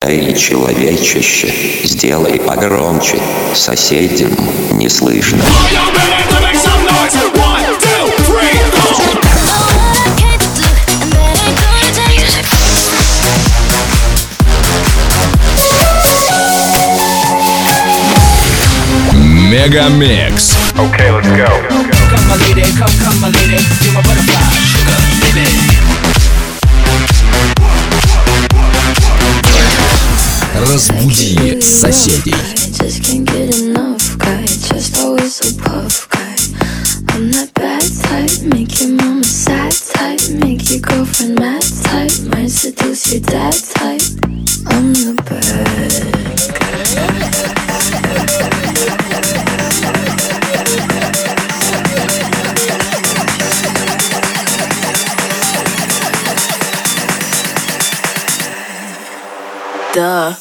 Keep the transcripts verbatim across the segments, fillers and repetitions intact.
Эй, человечище, сделай погромче, соседям не слышно. Мегамикс. Okay, let's go. Come my lady, come, come my lady, you're my butterfly, sugar, baby. Разбуди соседей. Just can't get enough guy, just always so puff guy. I'm that bad type, make your mama sad type, make your girlfriend mad type, might seduce your dad type. I'm the bad guy. Duh.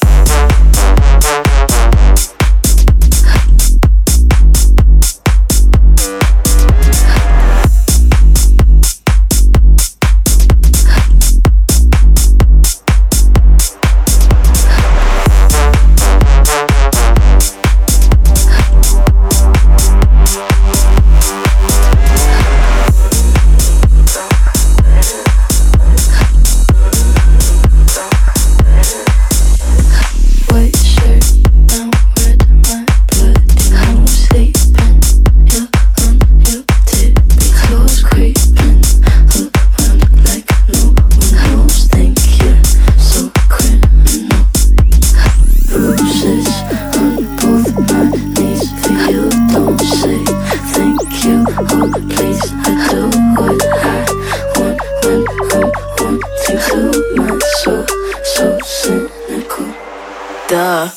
Duh.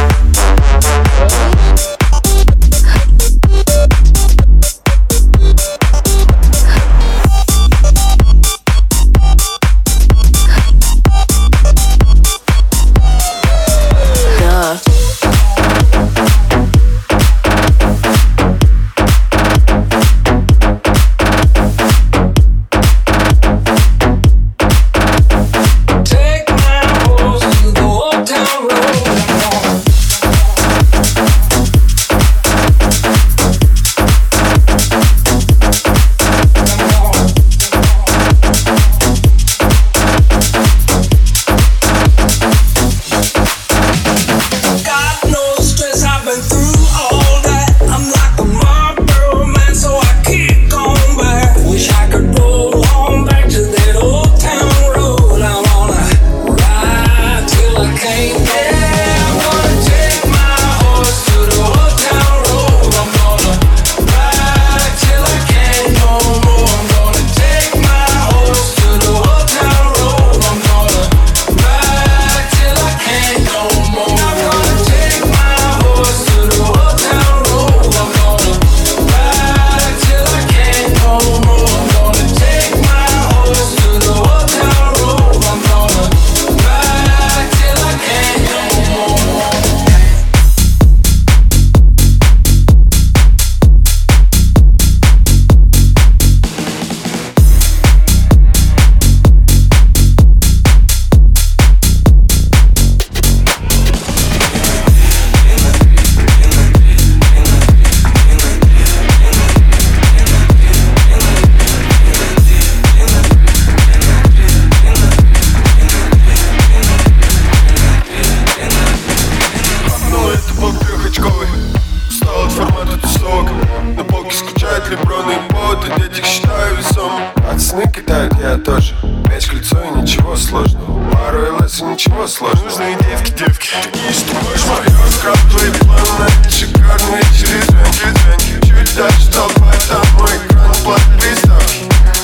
Ничего сложного. Нужные девки, девки. Такие, что можешь моё скрафтовый план. Шикарные через рынки, рынки. Чуть дальше толпа, там мой экран, плат приставки.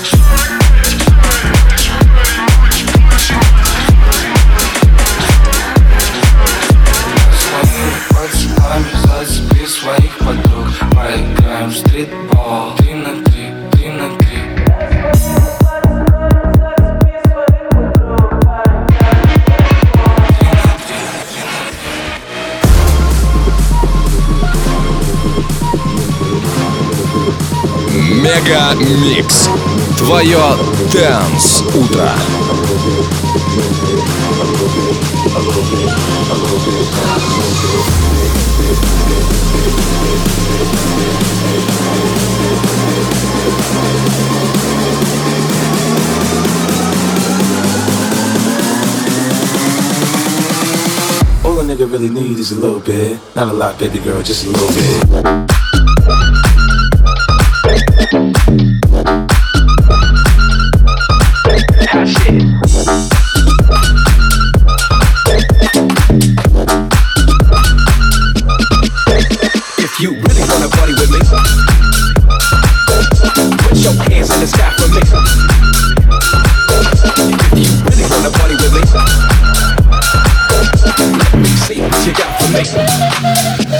Под шумами зацепи своих подруг. Поиграем в стритбол. Три на три, три на три. Мегамикс. Твое Dance утро. a little bit, a little All a nigga really need is a little bit. Not a lot, baby girl, just a little bit. If you really wanna party with me, put your hands in the sky for me. If you really wanna party with me, let me see what you got for me.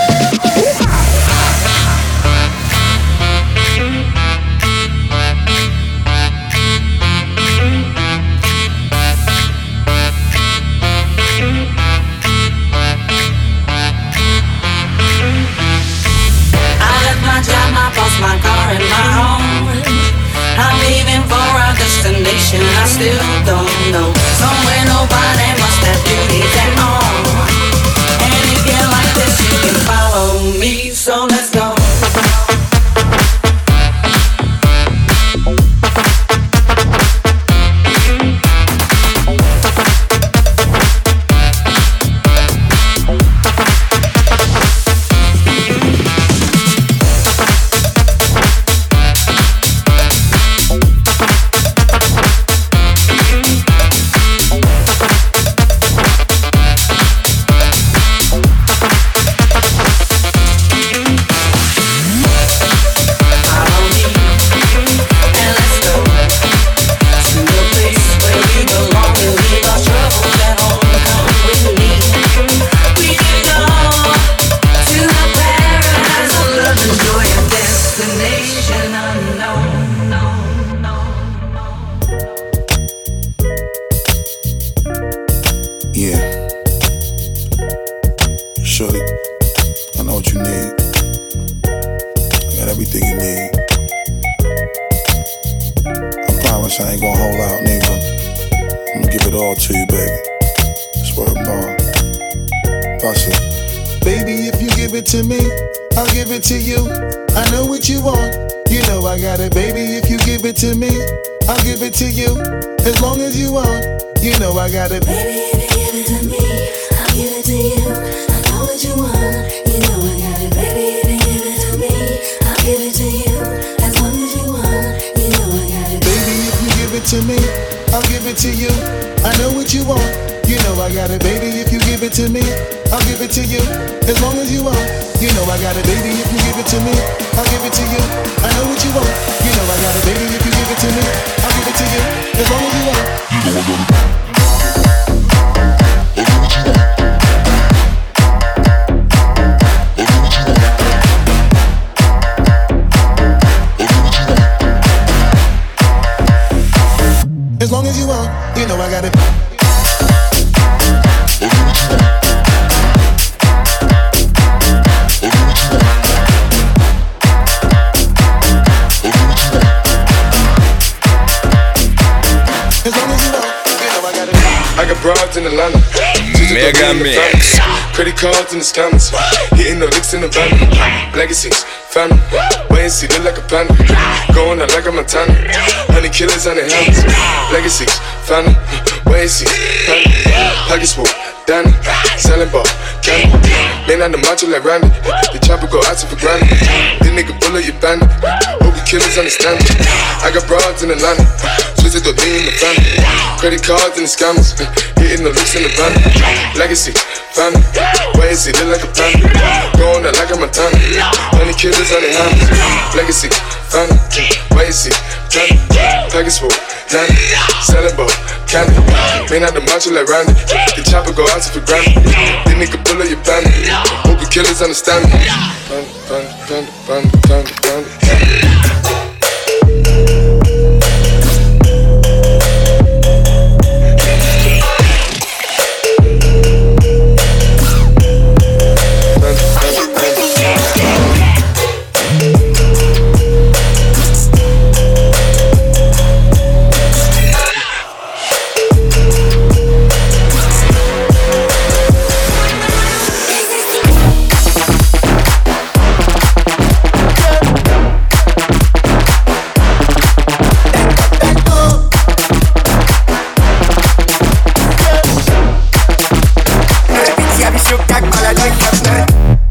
My car and my home. I'm leaving for a destination I still don't know. Somewhere nobody must have duties at all. And if you like this, you can follow me. So let's go. To me, I'll give it to you as long as you want. You know I got it. Baby, if you give it to me, I'll give it to you. I know what you want. You know I got it. Baby, if you give it to me, I'll give it to you as long as you want. You know I got it. Baby, if you give it to me, I'll give it to you. I know what you want. You know I got it. Baby, if you give it to me, I'll give it to you as long as you want. You know I got it. Baby, if you give it to me, I'll give it to you. I know what you want. You know I got it. Baby, if you give it to me, I'll give it to you as long as you want. You know I got it. As long as you want, you know I got it. Broads in Atlanta, Мегамикс. Credit cards in the scammers, hitting the licks in the van. Legacies, family, wait and see, look like a panda. Going out like a Montana, honey killers on their hands. Legacies, family, wait and see, family. Pockets full, Danny, selling ball, candy. Man on the macho like Randy, the chopper go out for granted. This nigga bullet you bandit, hope you killers understand it. I got broads in Atlanta, twisted the lean in the family. Credit cards and the scammers, hitting the looks in the van. Legacy, family, wait and see, look like a panda. Going out like a Montana, honey killers on their hands. Legacy, family, wait and see, family. Package full, Danny, selling ball, candy. Man out the macho like Randy, the chopper go out for granted. This nigga bullet you bandit, hope you killers understand me. Panda, panda, panda, panda, panda, panda. висю, как молодой Хефнер.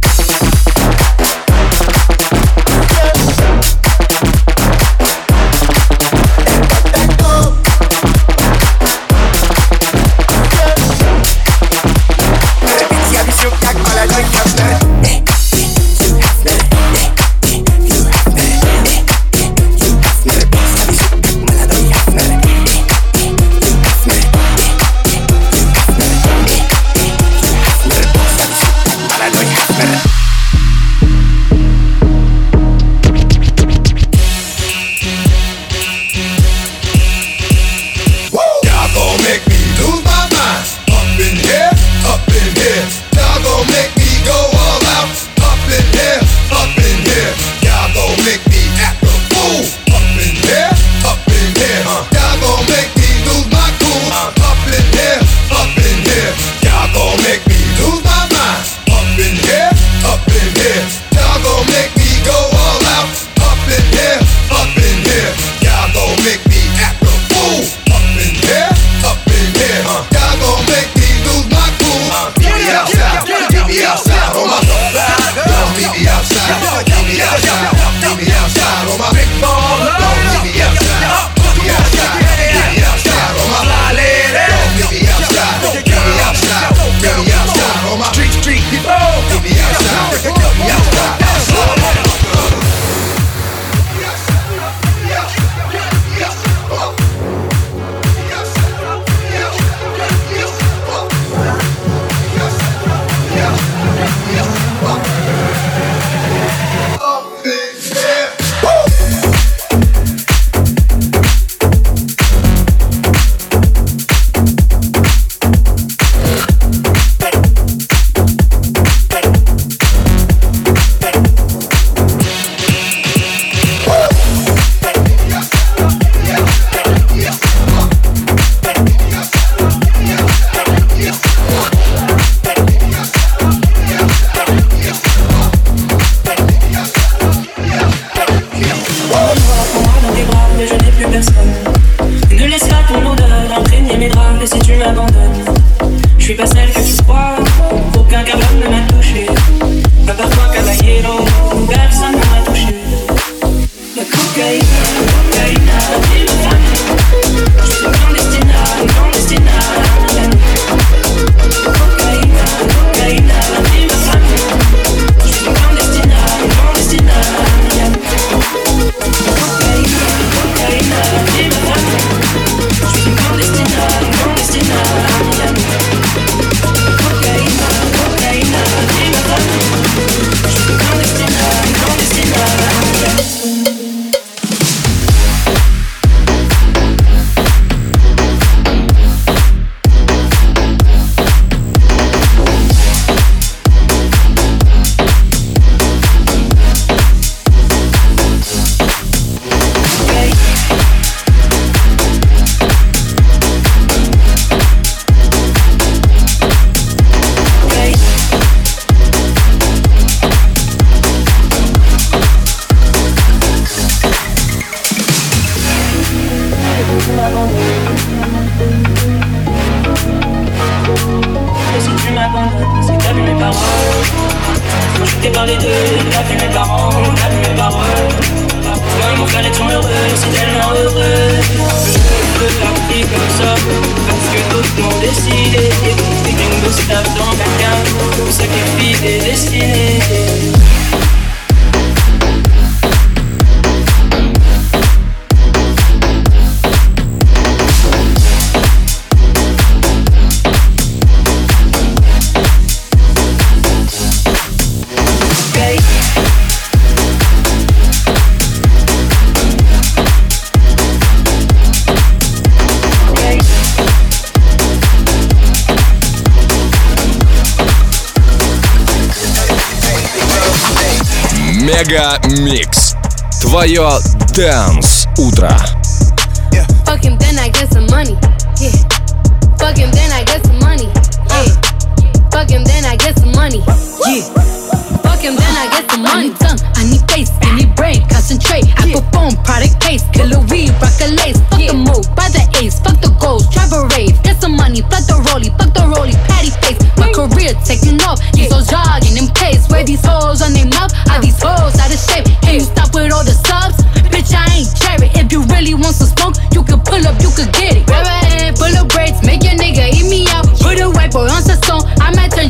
Мега Микс. Твое Dance утро. Fuck him, then I get some money. Yeah. Fuck him, then I get some money. Yeah. Fuck him, then I get some money. Yeah. Fuck him, then I get some money. I need tongue, I need face, I need brain, concentrate. I perform product case, killer weed, rock a lace. Fuck the move, buy the ace, fuck the goals, drive a rave. Get some money, fuck the rollie, fuck the rollie, patty face. My career taking off,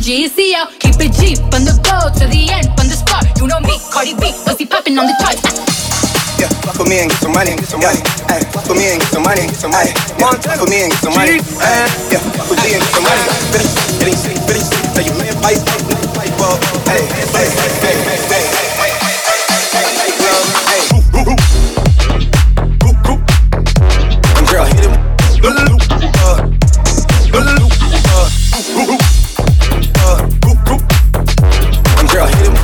G C L. Keep it G from the go to the end, from the start. You know me, Cardi B, pussy popping on the charts. Yeah, fuck with me and get some money, get some money. Ay, fuck with me and get some money, get some money. Yeah, fuck with me and get some money. Ay, yeah, fuck with me and get some money. Bitty, bitty, bitty, bitty. Tell you man, fight, fight, fight, well, hey, hey, hey, hey, hey, hey, hey, hey, well, hey. I'm girl, hit him. Uh, I'm girl, hit him.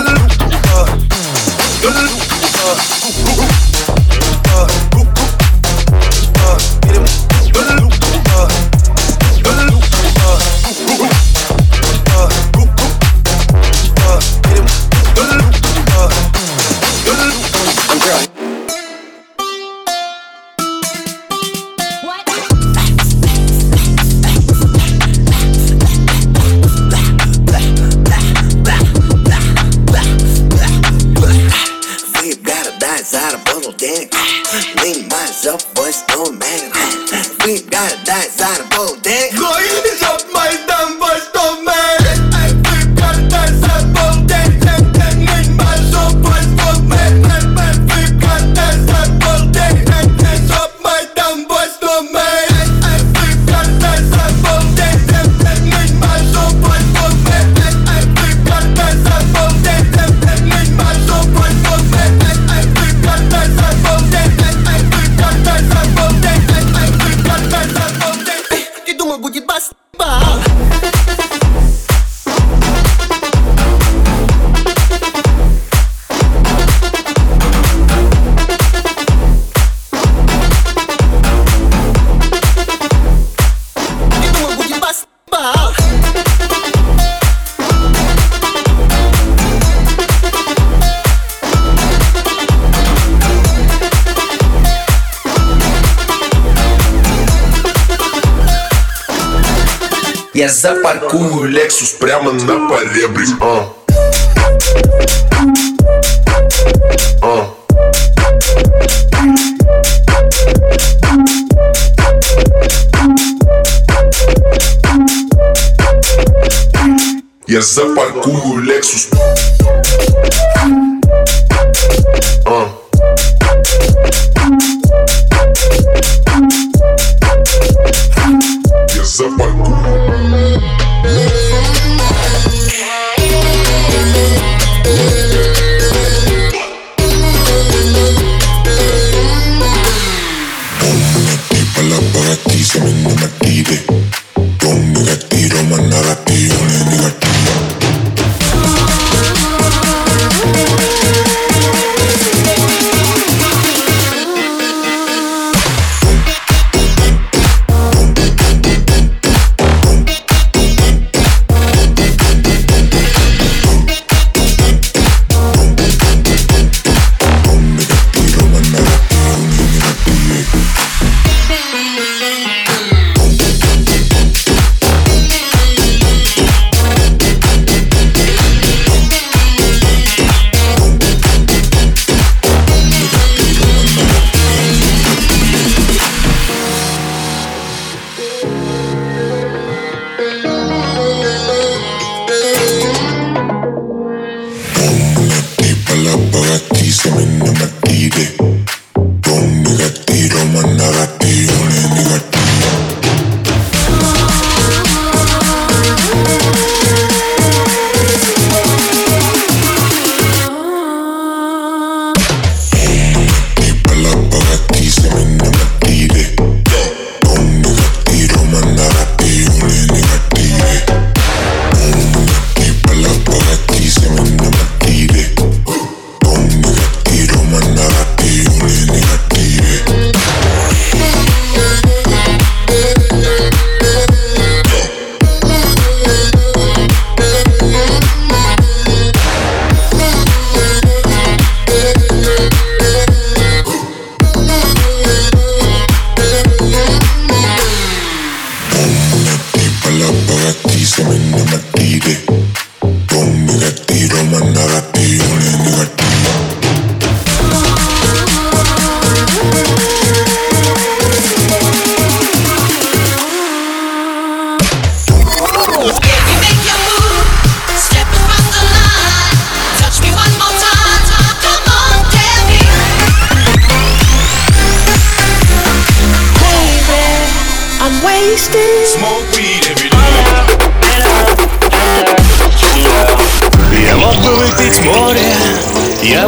Я запаркую Lexus прямо на поребрик. uh. Uh. Я запаркую Lexus. uh. Я запаркую. Se me no me tire, yo me retiro más negativo ni negativo.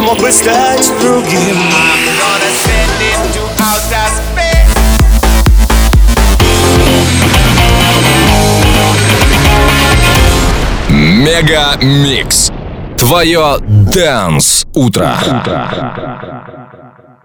мог бы стать другим. I'm gonna send him to outer space. Мега Микс. Твое Dance утро.